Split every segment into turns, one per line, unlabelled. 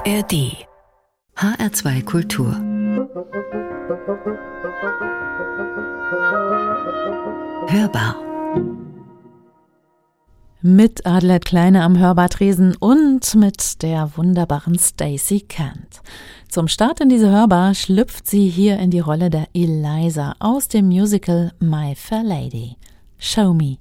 ARD HR2 Kultur Hörbar
mit Adelheid Kleine am Hörbartresen und mit der wunderbaren Stacey Kent. Zum Start in diese Hörbar schlüpft sie hier in die Rolle der Eliza aus dem Musical My Fair Lady. Show me.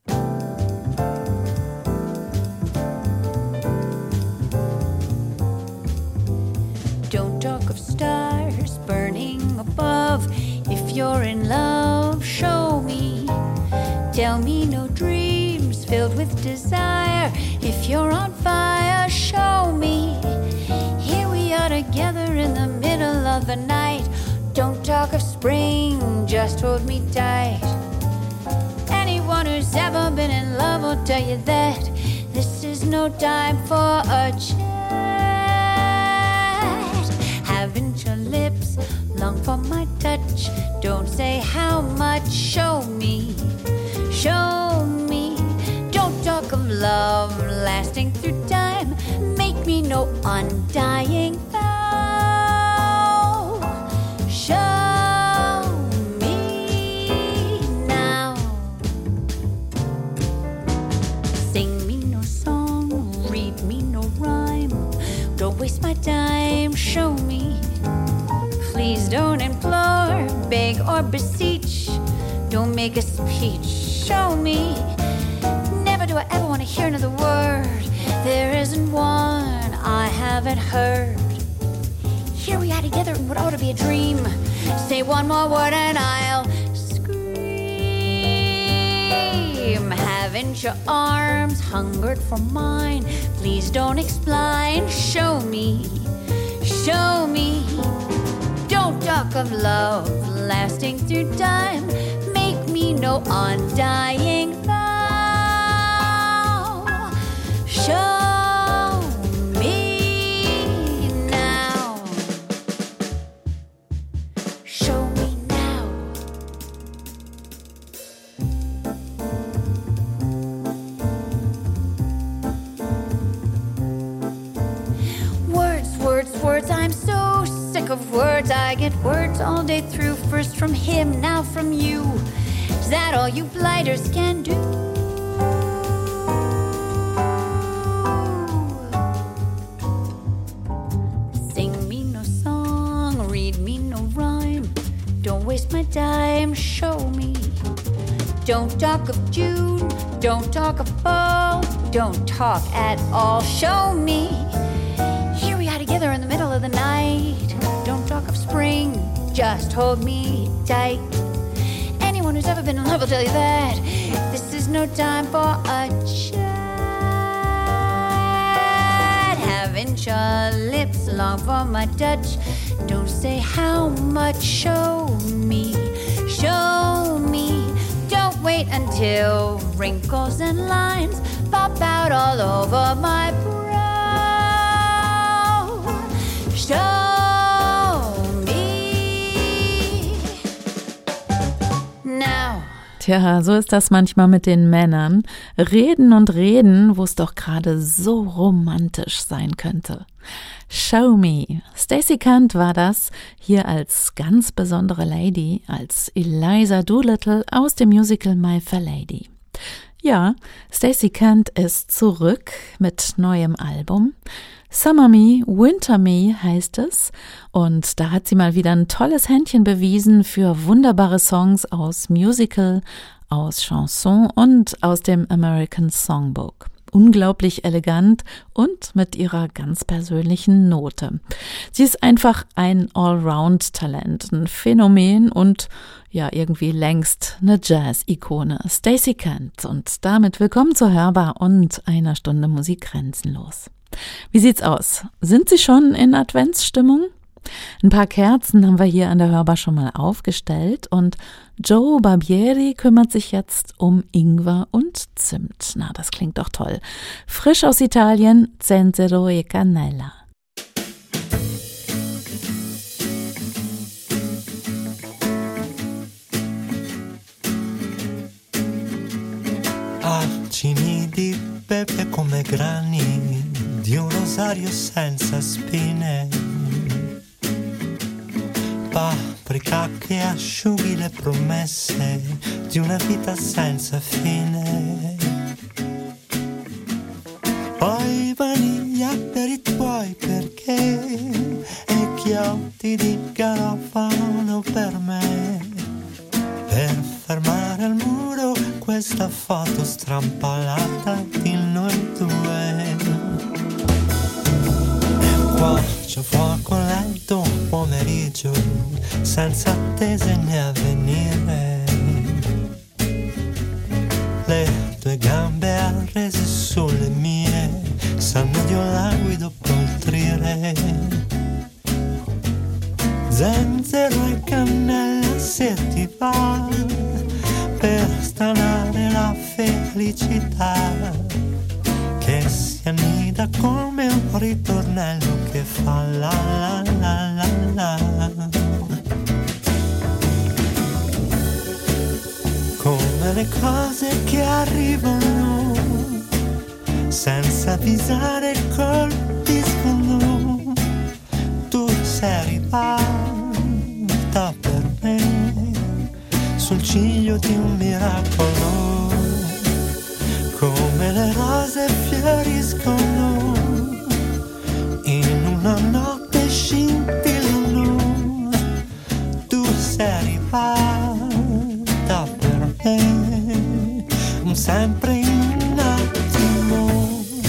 Don't talk of stars burning above. If you're in love, show me. Tell me no dreams filled with desire. If you're on fire, show me. Here we are together in the middle of the night. Don't talk of spring, just hold me tight. Anyone who's ever been in love will tell you that this is no time for a chat. Haven't your lips long for my touch? Don't say how much, show me. Show me. Don't talk of love lasting through time. Make me no undying vow. Show me now. Sing me no song, read me no rhyme. Don't waste my time, show me. Please don't implore, beg or beseech. Don't make a speech. Show me. Never do I ever want to hear another word. There isn't one I haven't heard. Here we are together in what ought to be a dream. Say one more word and I'll scream. Haven't your arms hungered for mine? Please don't explain. Show me. Show me. Don't talk of love lasting through time. Make me no undying vow. Show me now. Show me now. Words, words, words, I'm so sick of words. I get words all day through. First from him, now from you. Is that all you blighters can do? Sing me no song, read me no rhyme. Don't waste my time, show me. Don't talk of June, don't talk of fall. Don't talk at all, show me. Here we are together in the middle of the night. Don't talk of spring, just hold me tight. Anyone who's ever been in love will tell you that this is no time for a chat. Haven't your lips long for my touch? Don't say how much, show me. Show me. Don't wait until wrinkles and lines pop out all over my brow. Show
Tja, so ist das manchmal mit den Männern. Reden und reden, wo es doch gerade so romantisch sein könnte. Show me. Stacey Kent war das, hier als ganz besondere Lady, als Eliza Doolittle aus dem Musical My Fair Lady. Ja, Stacey Kent ist zurück mit neuem Album. Summer Me, Winter Me heißt es, und da hat sie mal wieder ein tolles Händchen bewiesen für wunderbare Songs aus Musical, aus Chanson und aus dem American Songbook. Unglaublich elegant und mit ihrer ganz persönlichen Note. Sie ist einfach ein Allround-Talent, ein Phänomen und ja irgendwie längst eine Jazz-Ikone. Stacey Kent, und damit willkommen zur Hörbar und einer Stunde Musik grenzenlos. Wie sieht's aus? Sind Sie schon in Adventsstimmung? Ein paar Kerzen haben wir hier an der Hörbar schon mal aufgestellt und Joe Barbieri kümmert sich jetzt um Ingwer und Zimt. Na, das klingt doch toll. Frisch aus Italien, Zenzero e Cannella.
Acini di pepe come grani di un rosario senza spine, paprika che asciughi le promesse di una vita senza fine. Poi vaniglia per i tuoi perché e chiodi di garofano per me, per fermare al muro questa foto strampalata di noi due. Qua c'è fuoco lento, un pomeriggio senza attese né avvenire. Le tue gambe arrese sulle mie sanno di un languido poltrire. Zenzero e cannella se ti va, per stanare la felicità che si annida come un ritornello che fa la la la la la. Come le cose che arrivano senza avvisare, colpiscono. Tu sei arrivata per me sul ciglio di un miracolo. Come le rose fioriscono in una notte scintillano. Tu sei arrivata per me sempre in un attimo.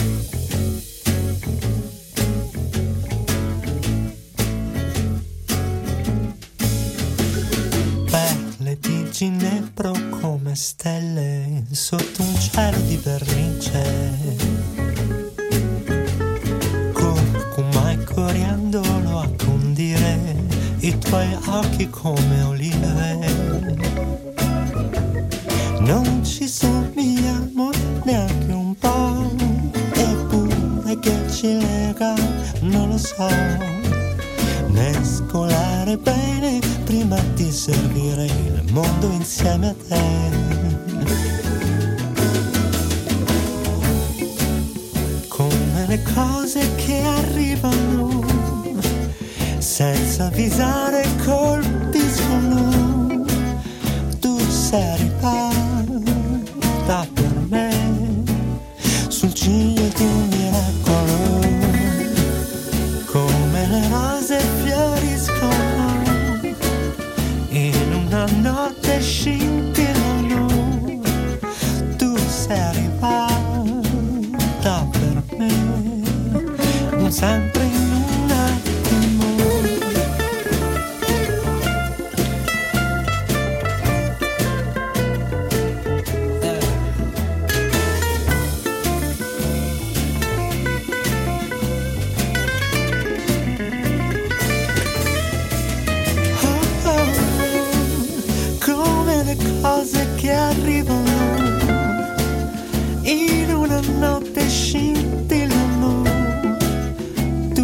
Perle di ginepro come stelle sotto un cielo di vernice, curcuma e coriandolo a condire i tuoi occhi come olive. Non ci somigliamo neanche un po', eppure che ci lega non lo so. Mescolare bene prima di servire il mondo insieme a te. Come le cose che arrivano senza avvisare, colpiscono. Tu sei arrivata per me sul ciglio di un miracolo. Come le rose fioriscono in una notte scintillano. Tu sei arrivata per me sempre in un attimo. Cose che arrivano in una notte scintillano. Tu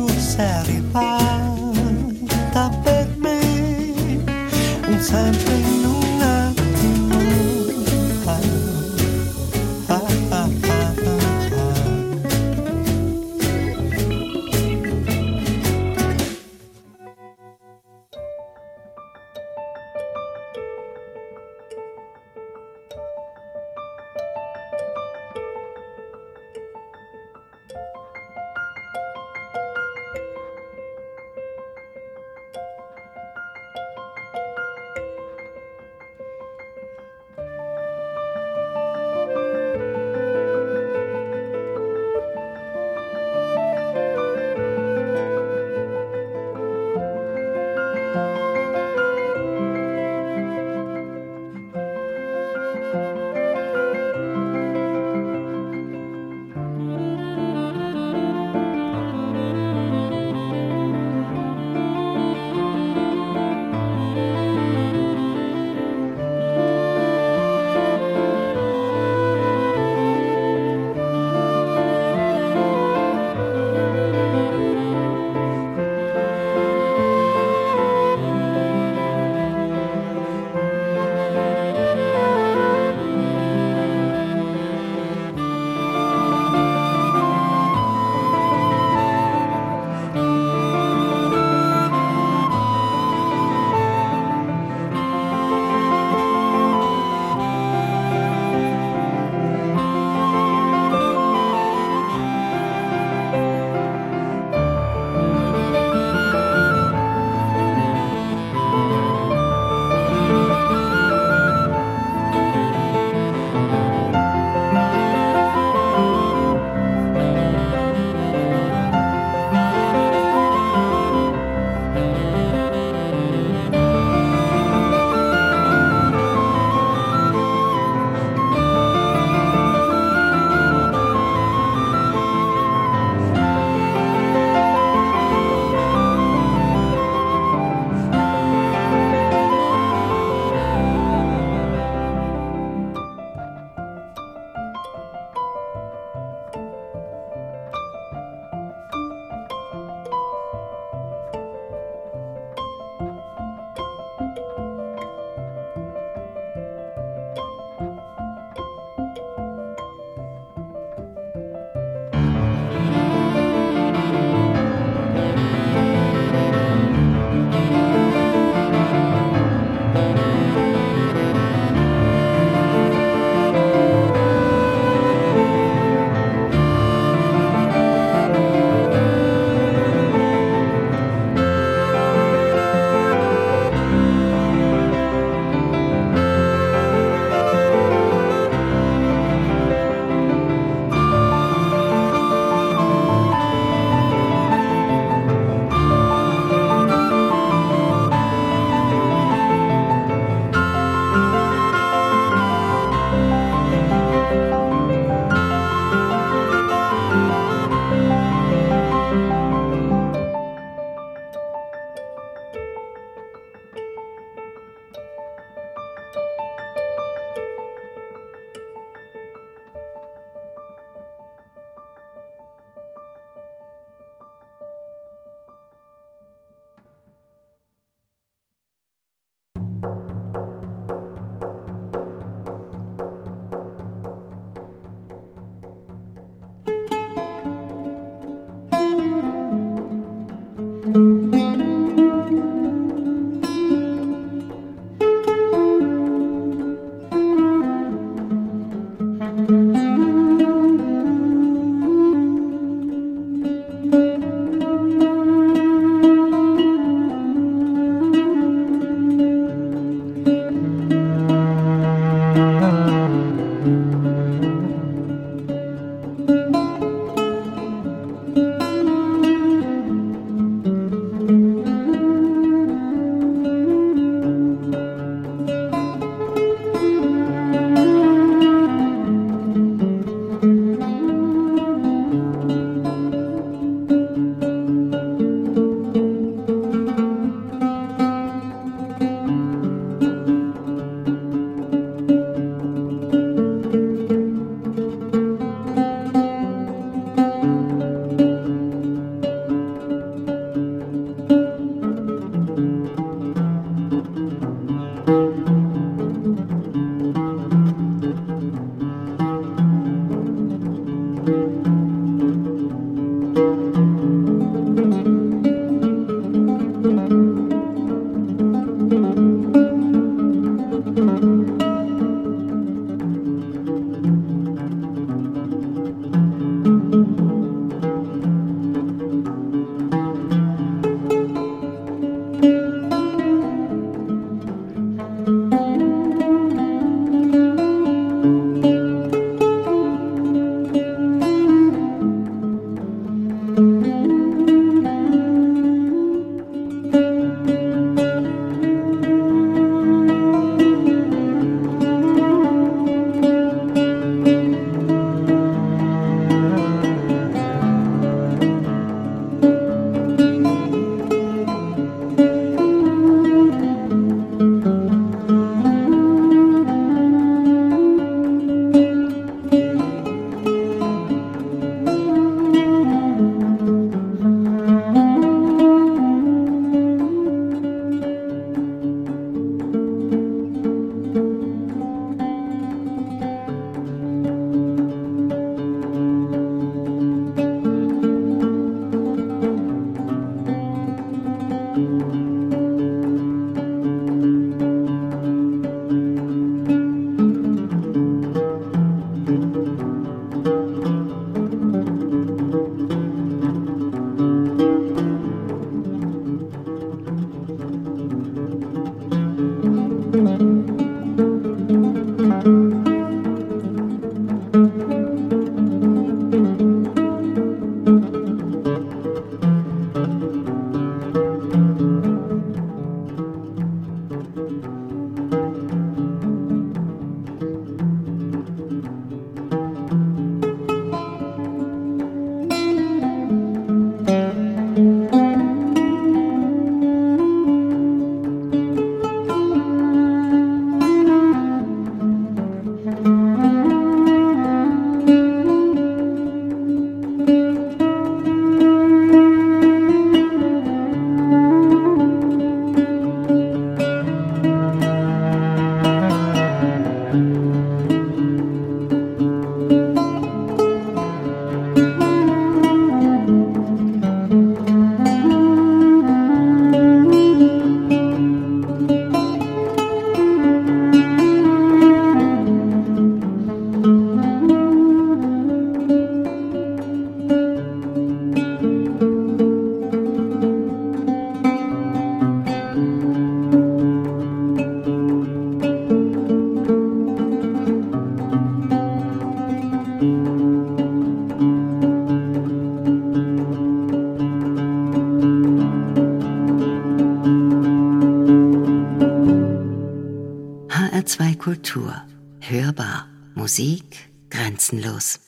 Kultur. Hörbar. Musik grenzenlos.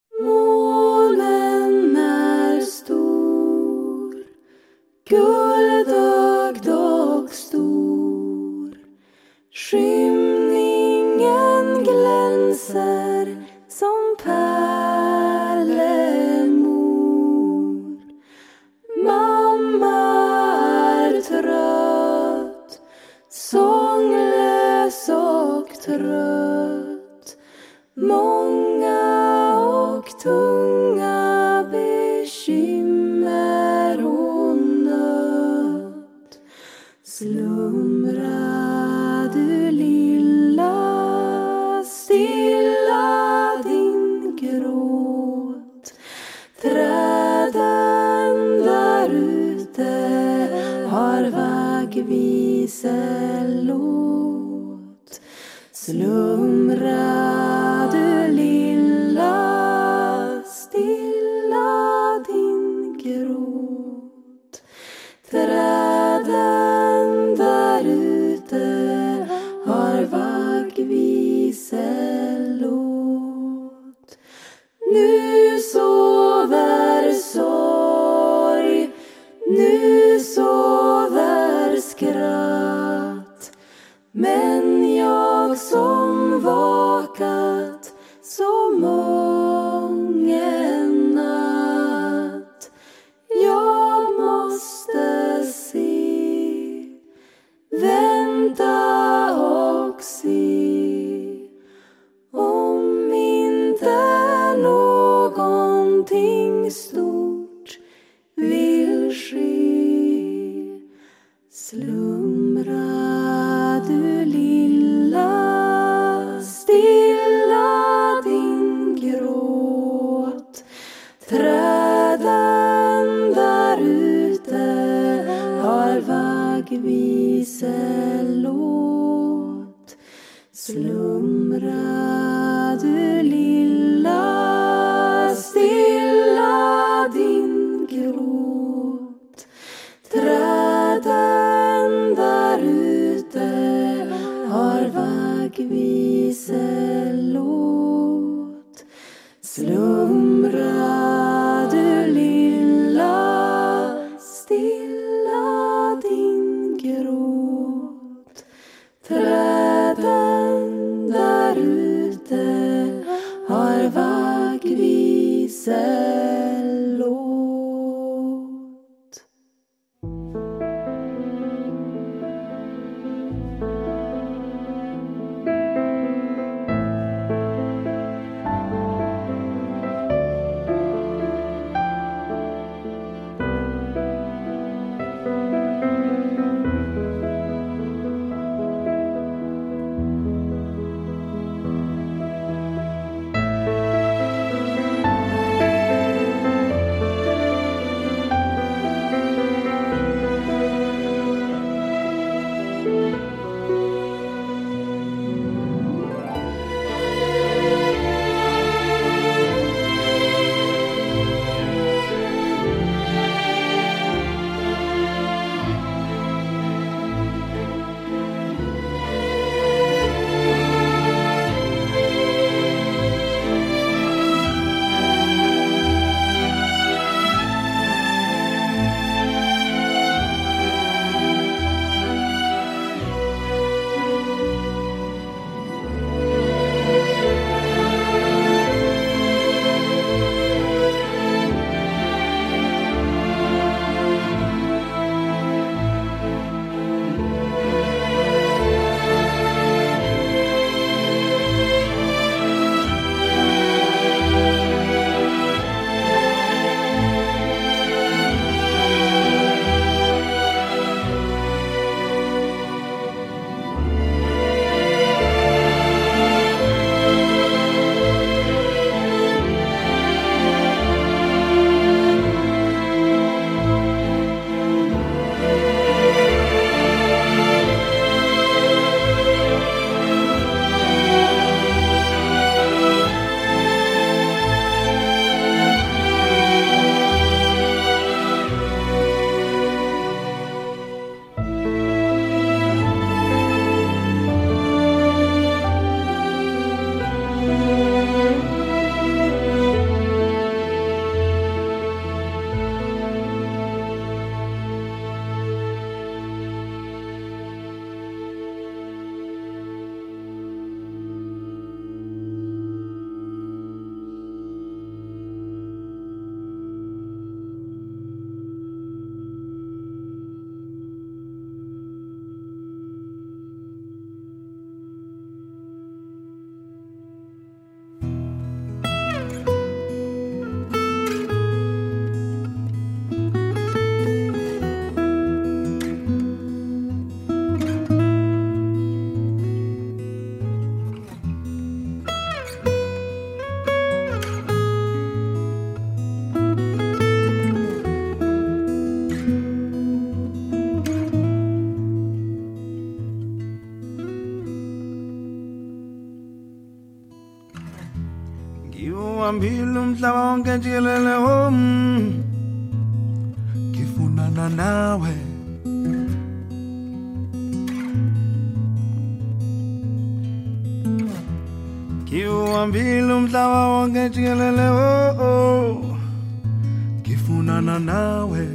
Månen är stor, guldögd och stor. Skymningen glänser som pärlemor. Mamma är trött, sånglös och trött. Många och tunga bekymmer hon nött. Slumra du lilla, stilla din gråt. Träden där ute har vaggviselåt. Slumra du lilla, stilla din gråt. Träden där ute har vaggviselåt. Nu sover sorg, nu sover skratt. Men jag som vakat så mången natt, jag måste se, vänta och se, om inte någonting stort vill ske. Slumra du lilla, stilla din gråt. Träden där ute har vaggviselåt. Slumra du lilla, stilla din gråt. Träden där ute har vaggviselåt. Slumra du lilla, stilla din gråt. Träden där ute
umhlaba wonke jikelele ngifunana nawe ngiwuhambile umhlaba wonke jikelele ngifunana nawe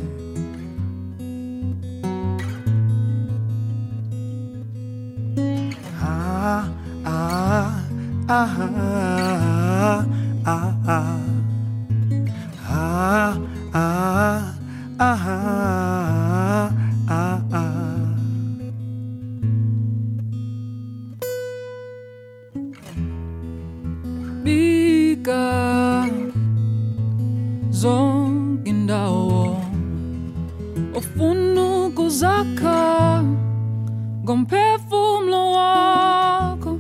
Bika zonke indawo ofuna ukuzakha ngomphefumulo wakho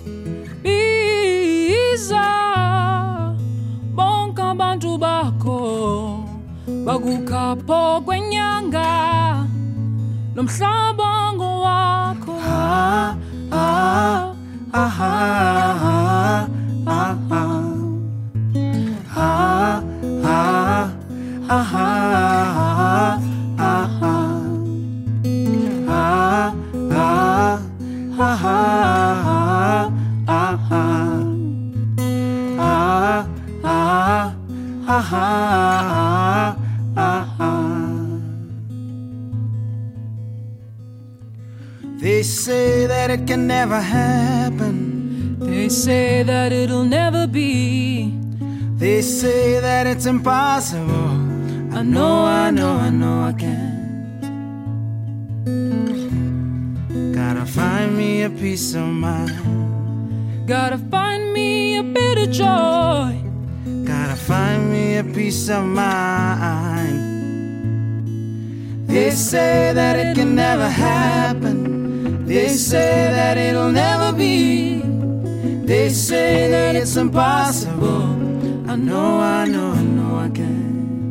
biza bonke abantu bakho bakukhapho kwenyanga nomhlaba ngowakho
They say that it can never happen.
They say that it'll never be.
They say that it's impossible.
I know I can.
Gotta find me a peace of mind.
Gotta find me a bit of joy.
Gotta find me a peace of mind. They say that it can never happen. They say that it'll never be. They say that it's impossible. I know I can.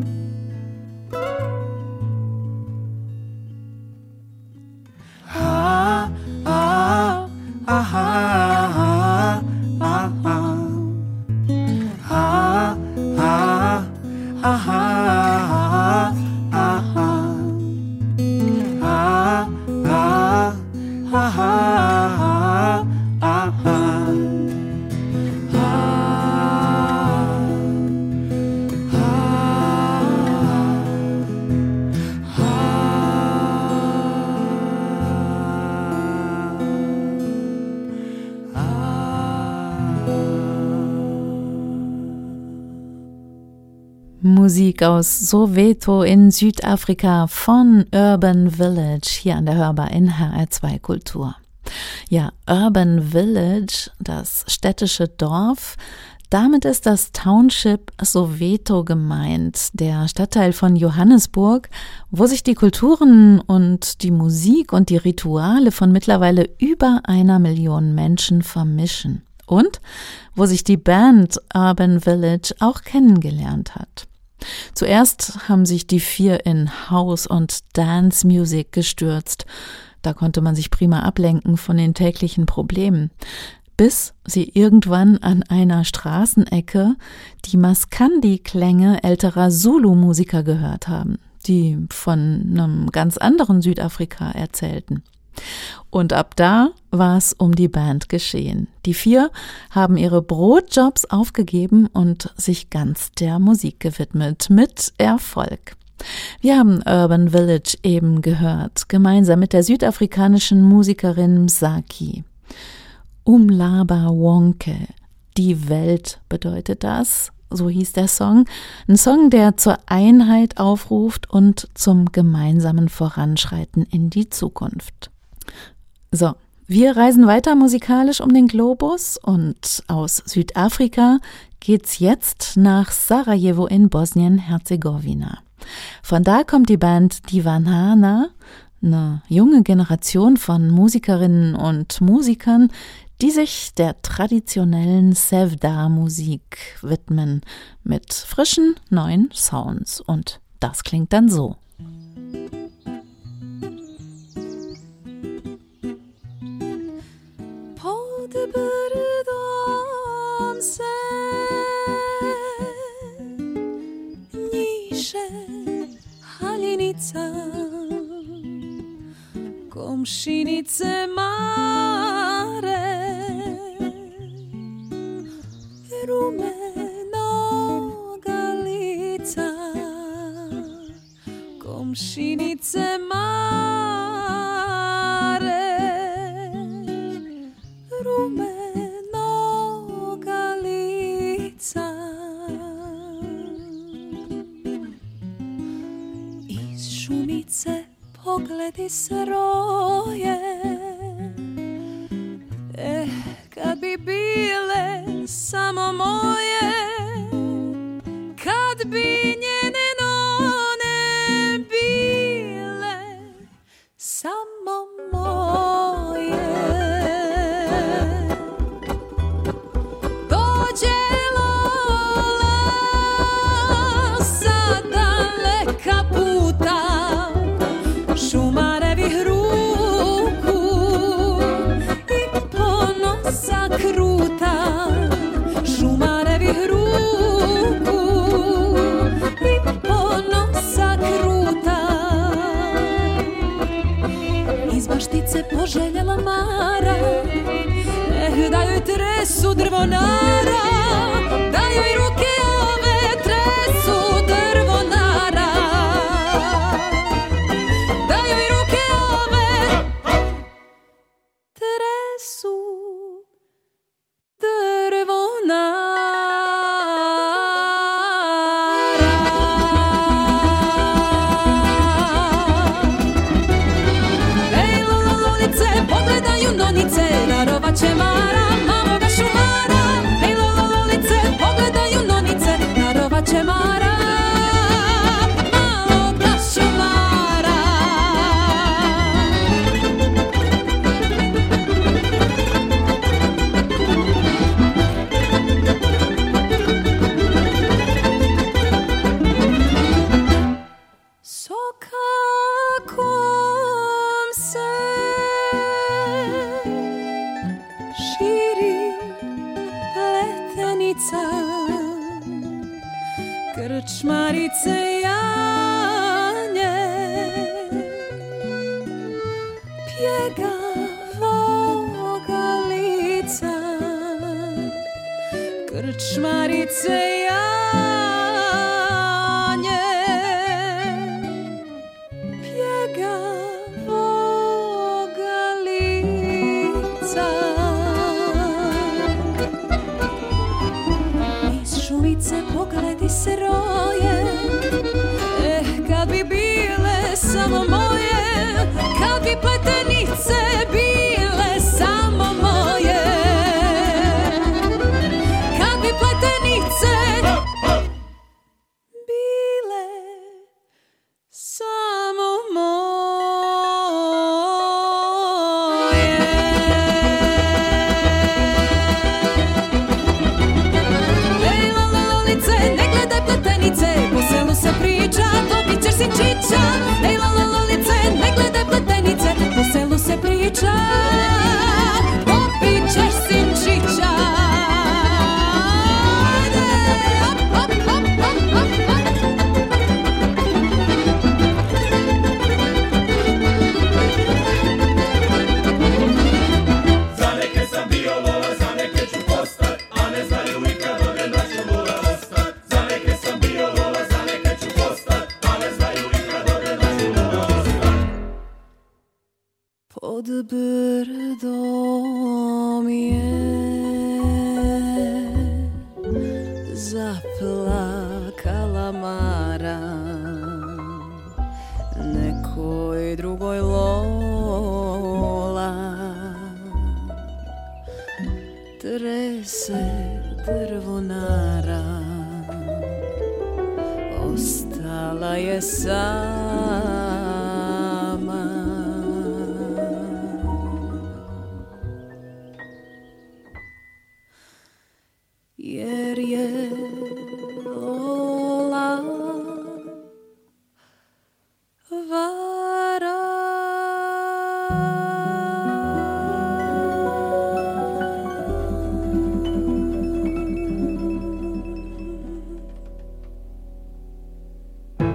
Musik aus Soweto in Südafrika von Urban Village hier an der Hörbar in HR2 Kultur. Ja, Urban Village, das städtische Dorf, damit ist das Township Soweto gemeint, der Stadtteil von Johannesburg, wo sich die Kulturen und die Musik und die Rituale von mittlerweile über 1 Million Menschen vermischen und wo sich die Band Urban Village auch kennengelernt hat. Zuerst haben sich die 4 in House- und Dance-Music gestürzt. Da konnte man sich prima ablenken von den täglichen Problemen, bis sie irgendwann an einer Straßenecke die Maskandi-Klänge älterer Zulu-Musiker gehört haben, die von einem ganz anderen Südafrika erzählten. Und ab da war es um die Band geschehen. Die 4 haben ihre Brotjobs aufgegeben und sich ganz der Musik gewidmet, mit Erfolg. Wir haben Urban Village eben gehört, gemeinsam mit der südafrikanischen Musikerin Msaki. Umhlaba Wonke, die Welt bedeutet das, so hieß der Song. Ein Song, der zur Einheit aufruft und zum gemeinsamen Voranschreiten in die Zukunft. So, wir reisen weiter musikalisch um den Globus und aus Südafrika geht's jetzt nach Sarajevo in Bosnien-Herzegowina. Von da kommt die Band Divanana, eine junge Generation von Musikerinnen und Musikern, die sich der traditionellen Sevda-Musik widmen, mit frischen, neuen Sounds. Und das klingt dann so.
piše haljenica, komšinice mare, rumenoga lica, komšinice mare, rumenoga lica. Iz šumice pogledi se roje, kad bi bile samo moje, kad bi njene none bile samo moje. Dođe Lola sa daleka puta, šumarevih ruku i ponosa kruta, šumarevih ruku i ponosa kruta. Iz baštice poželjela Mara, da joj tresu drvonara, da joj ruke ove tresu drvonara, da joj ruke ove tresu drvonara. Ej, lolice, pogledaju nonice, darovaće Mara, mamoga šumara. Ej, lolice, pogledaju nonice, darovaće Mara, maloga šumara. Sokakom se širi pletenica, krčmarice janje pjegavoga lica, krčmarice janje pjegavoga lica. Iz šumice pogledi se roje, kad bi bile samo moje, kad bi pletenice bile samo moje, kad bi pletenice bile samo moje. Ej, lolice, ne gledaj pletenice, po selu se priča, dobit ćeš sinčića. Ej, lolice, ne gledaj pletenice, po selu se priča, dobit ćeš sinčića. Ajde, hop, hop, hop, hop, hop, hop.
Za neke sam bio Lola, za neke ću postat, a ne znaju nikad dok da ću Lola ostat. Za neke sam bio Lola, za neke ću postat, a ne znaju nikad dok da ću Lola ostat.
Pod brdom je zaplakala Mara, nekoj drugoj Lola trese drvonara, ostala je sama. Jer je Lola vara.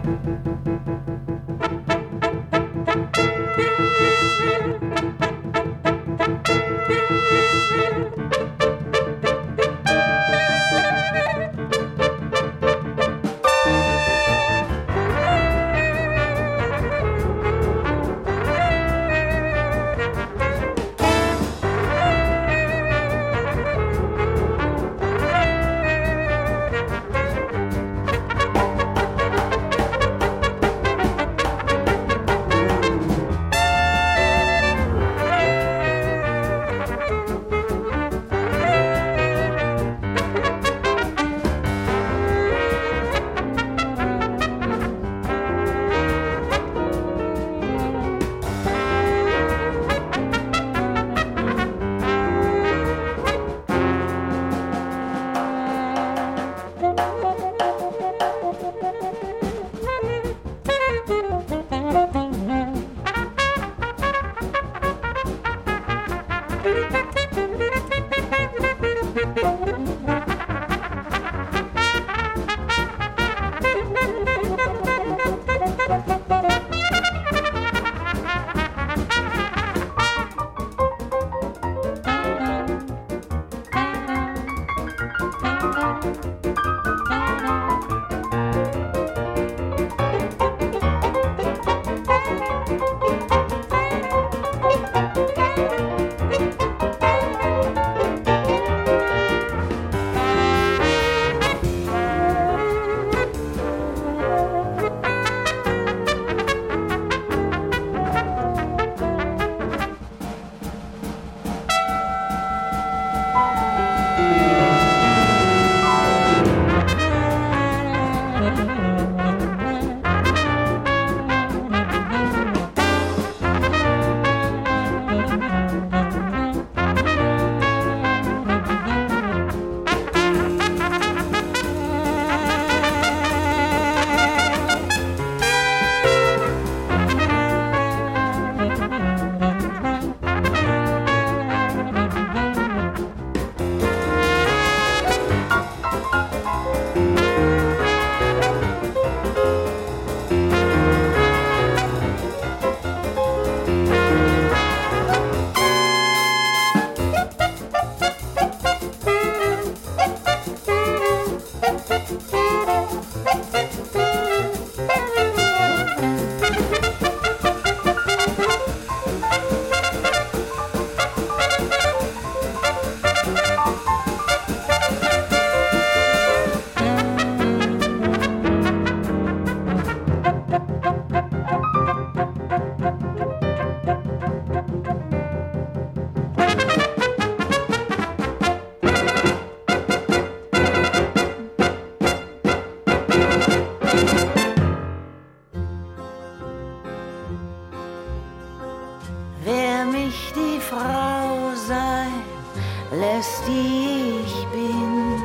lässt, die ich bin.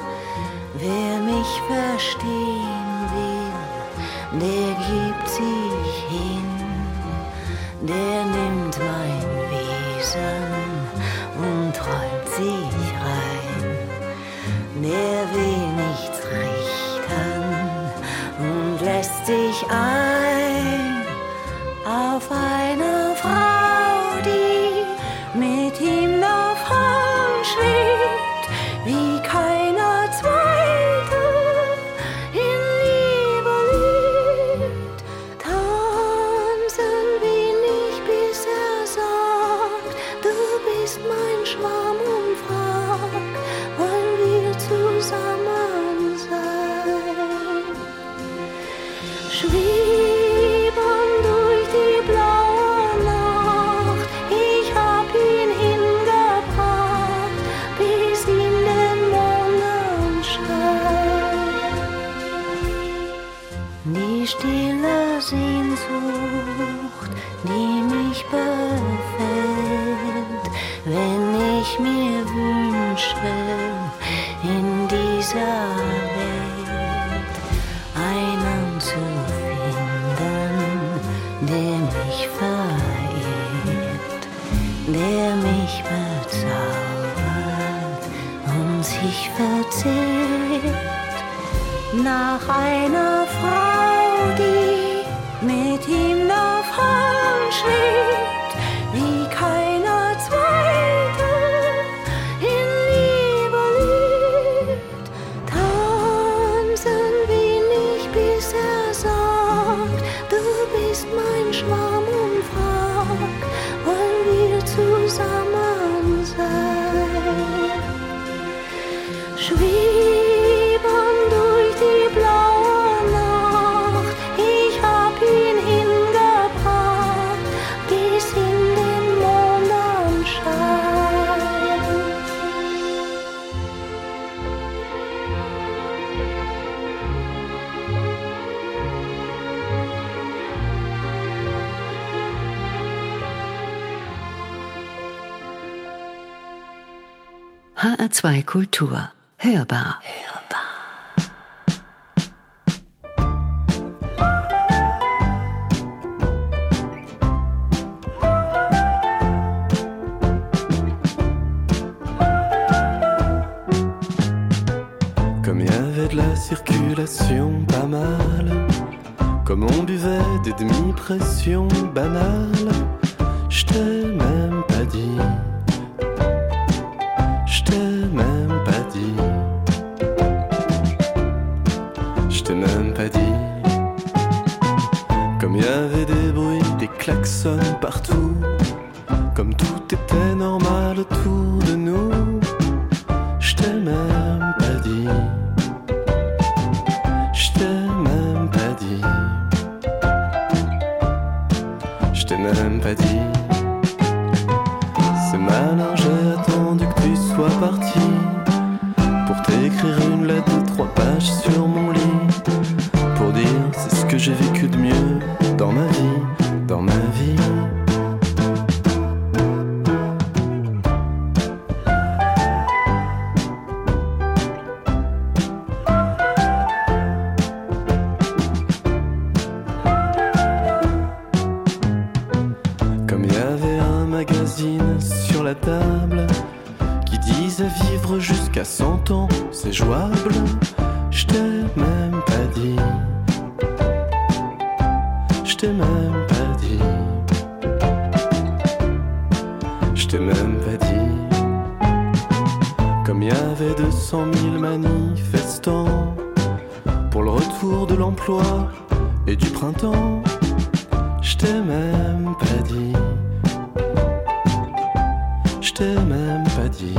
Wer mich verstehen will, der gibt sich hin. Der nimmt mein Wesen und träumt sich rein. Der will nichts richten und lässt sich ein auf eine Frau, die mit ihm davon schwebt, wie keiner zweite in Liebe liebt. Tanzen will ich, bis er sagt, du bist mein Schwarm, und fragt, wollen wir zusammen sein? Schweben durch die blaue Nacht, ich hab ihn hingebracht, bis in den Mondenschein. Die stille Sehnsucht, die mich befällt, wenn ich mir wünsche, in dieser Welt einen zu finden, der mich verehrt, der mich bezaubert und sich verzehrt nach einer Frau, die
HR2 Kultur. Hörbar.
Comme il y avait de la circulation pas mal, comme on buvait des demi-pressions banales, je t'ai même pas dit, je t'ai même pas dit, je t'ai même pas dit. Comme il y avait des bruits, des klaxons partout, comme tout était normal autour de nous, je t'ai même pas dit, je t'ai même pas dit, je t'ai même pas dit. C'est malin, j'ai attendu que tu sois parti pour t'écrire une lettre de 3 pages sur mon lit, pour dire c'est ce que j'ai vécu de mieux dans ma vie, dans ma vie. Comme il y avait un magazine sur la table qui disait vivre jusqu'à 100 ans, c'est jouable, je t'ai même pas dit, je t'ai même pas dit, je t'ai même pas dit. Comme il y avait 200 000 manifestants pour le retour de l'emploi et du printemps, je t'ai même pas dit, je t'ai même pas dit,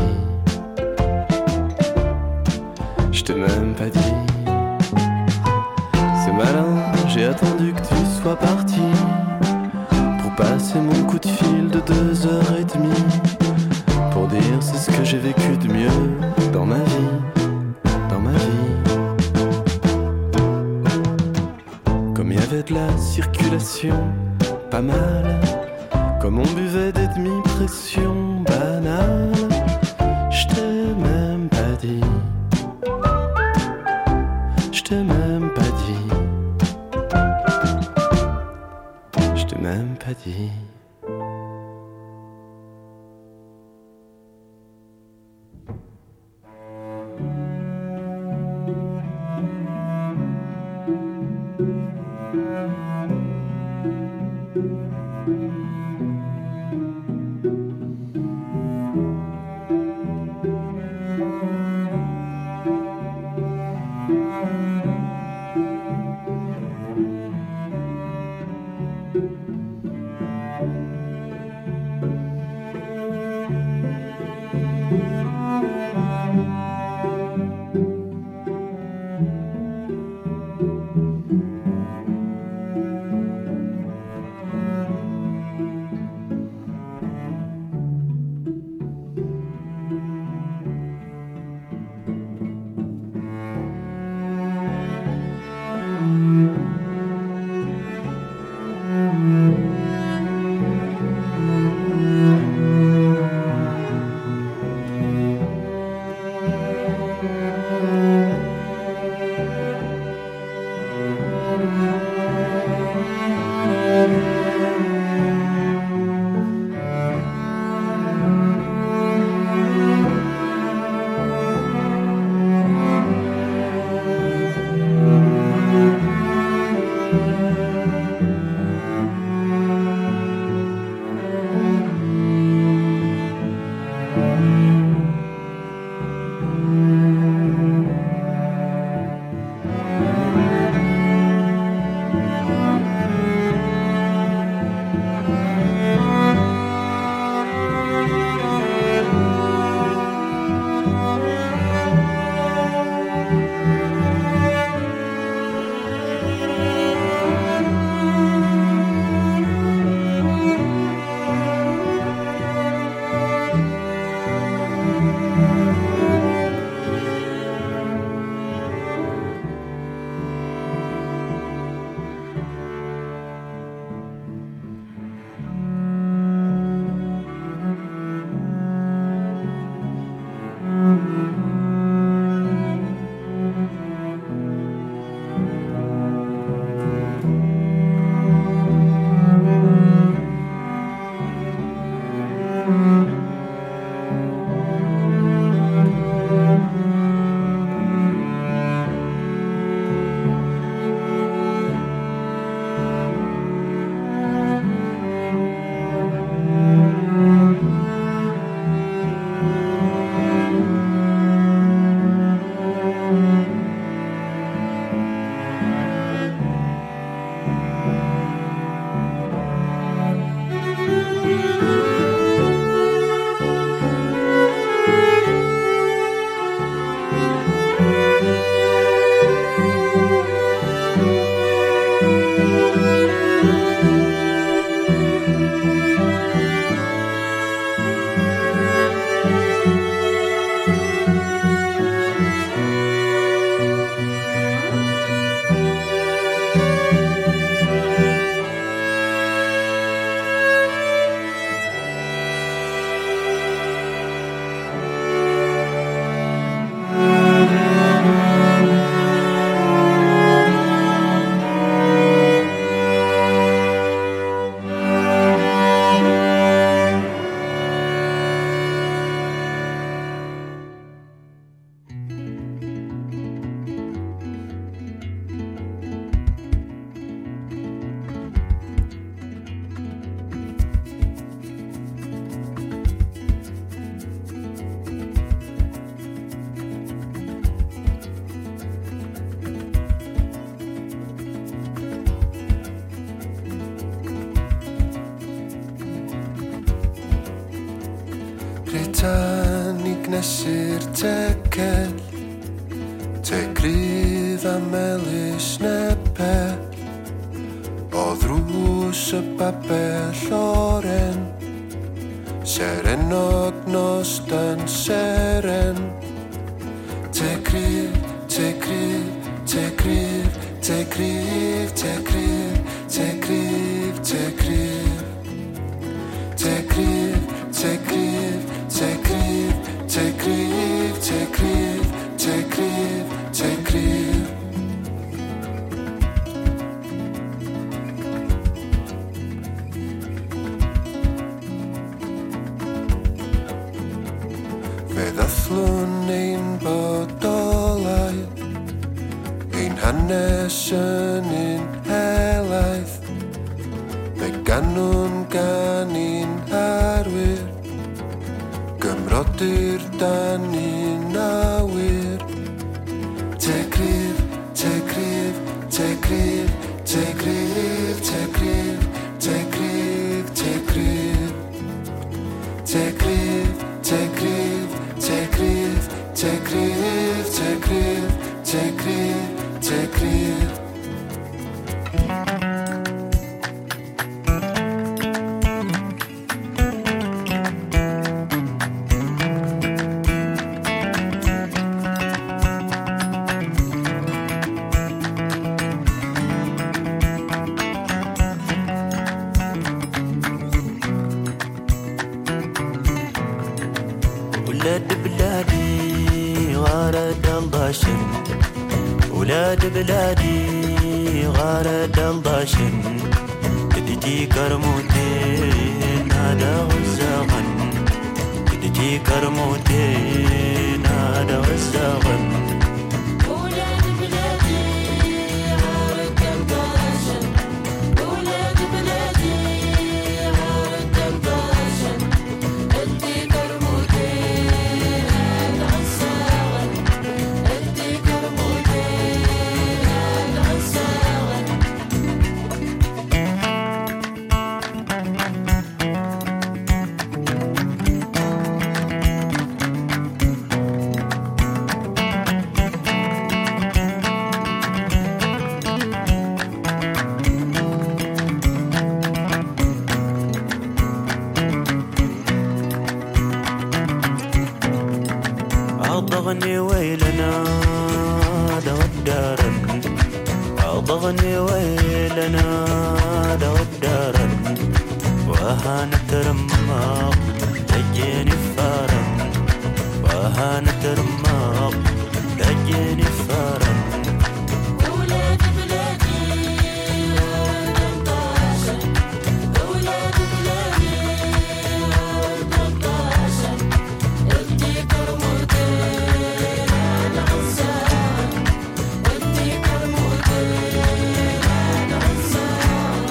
je t'ai même pas dit. C'est malin, j'ai attendu que tu sois parti pour passer mon coup de fil de 2h30, pour dire c'est ce que j'ai vécu de mieux dans ma vie, dans ma vie. Comme il y avait de la circulation pas mal, comme on buvait des demi-pressions banales, je t'ai même pas dit, je t'ai même pas dit, je t'ai même pas dit.
Britannig nesir tegel Tegryða melis nebel O ddrws y babell oren Seren ognos dan seren Tegrydd, tegrydd, tegrydd, tegrydd, tegrydd, tegrydd, tegrydd Tegrydd, tegrydd, tegrydd, tegrydd, tegrydd, tegrydd, tegrydd Fe ddathlwn ein bodolau Ein hanes yn un helaeth Fe ganwn gan un arwyr Gymrodir dan un awyr Tegrydd, tegrydd, tegrydd, tegrydd, tegrydd, tegrydd, tegrydd Tegrydd, tegrydd, tegrydd, tegrydd, tegrydd, tegrydd, tegrydd ولاد بلادي غارد الضاشن بديتي كرموتين هذا والزغن بديتي كرموتين هذا والزغن ولاد بلادي غارد الضاشن ولاد بلادي غارد الضاشن بديتي كرموتين هذا والزغن بديتي كرموتين أضغني ويلنا دو الدارن أضغني ويلنا دو الدارن وهانت رماق دجيني فارن وهانت رماق دجيني فارن ولاد بلادي ولاد الضاشن ولاد بلادي ولاد الضاشن ادي كرموتين على عزان ادي كرموتين على عزان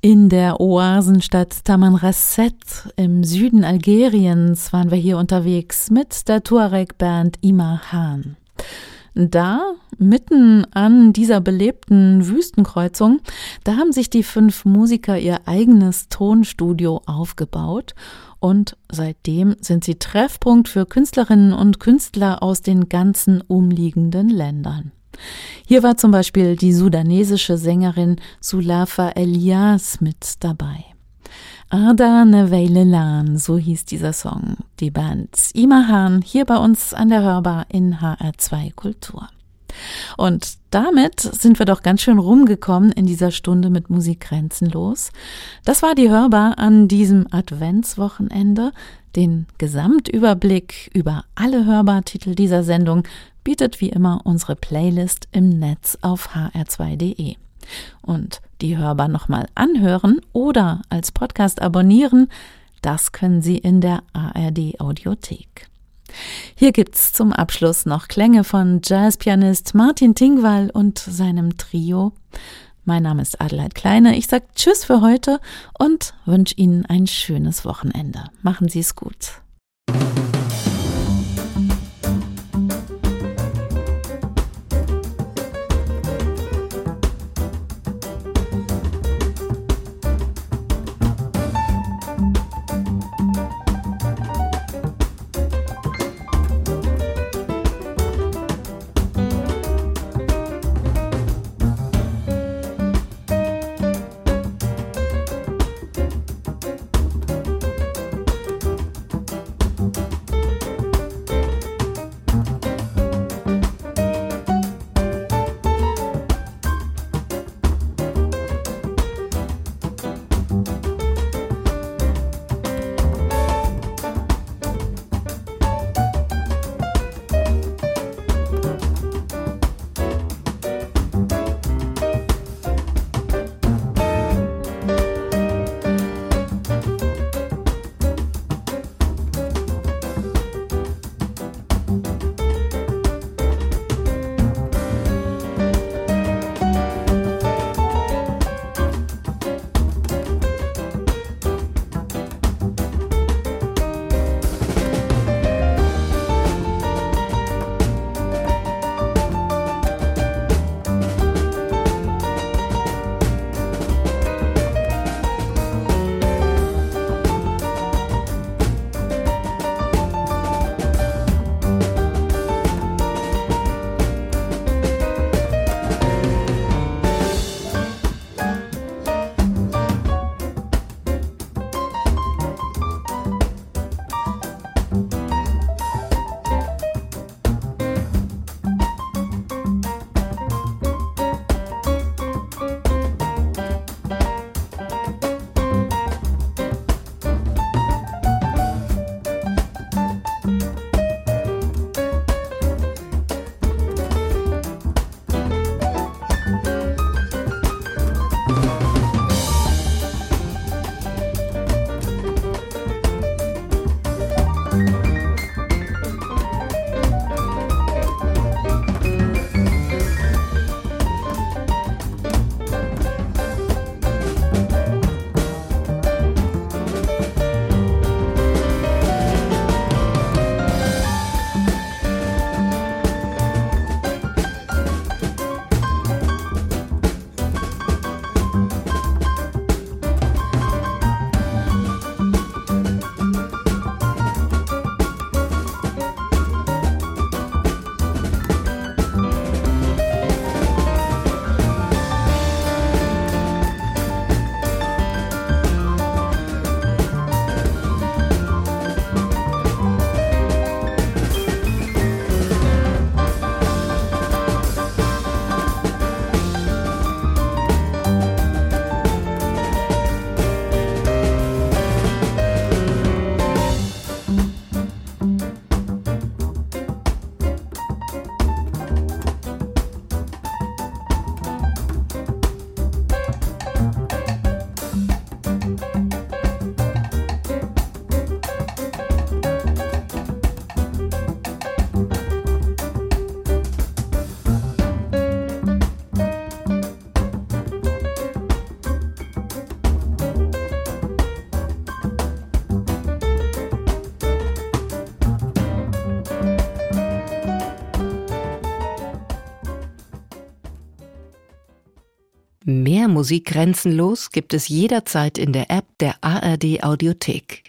In der Oasenstadt Tamanrasset im Süden Algeriens waren wir hier unterwegs mit der Tuareg-Band Imahan. Da, mitten an dieser belebten Wüstenkreuzung, da haben sich die 5 Musiker ihr eigenes Tonstudio aufgebaut und seitdem sind sie Treffpunkt für Künstlerinnen und Künstler aus den ganzen umliegenden Ländern. Hier war zum Beispiel die sudanesische Sängerin Sulafa Elias mit dabei. Arda Neveilelan, so hieß dieser Song. Die Band Imahan hier bei uns an der Hörbar in HR2 Kultur. Und damit sind wir doch ganz schön rumgekommen in dieser Stunde mit Musik grenzenlos. Das war die Hörbar an diesem Adventswochenende. Den Gesamtüberblick über alle Hörbartitel dieser Sendung bietet wie immer unsere Playlist im Netz auf hr2.de. Und die Hörbar nochmal anhören oder als Podcast abonnieren, das können Sie in der ARD Audiothek. Hier gibt's zum Abschluss noch Klänge von Jazzpianist Martin Tingwall und seinem Trio. Mein Name ist Adelheid Kleine. Ich sage Tschüss für heute und wünsche Ihnen ein schönes Wochenende. Machen Sie es gut.
Mehr Musik grenzenlos gibt es jederzeit in der App der ARD Audiothek.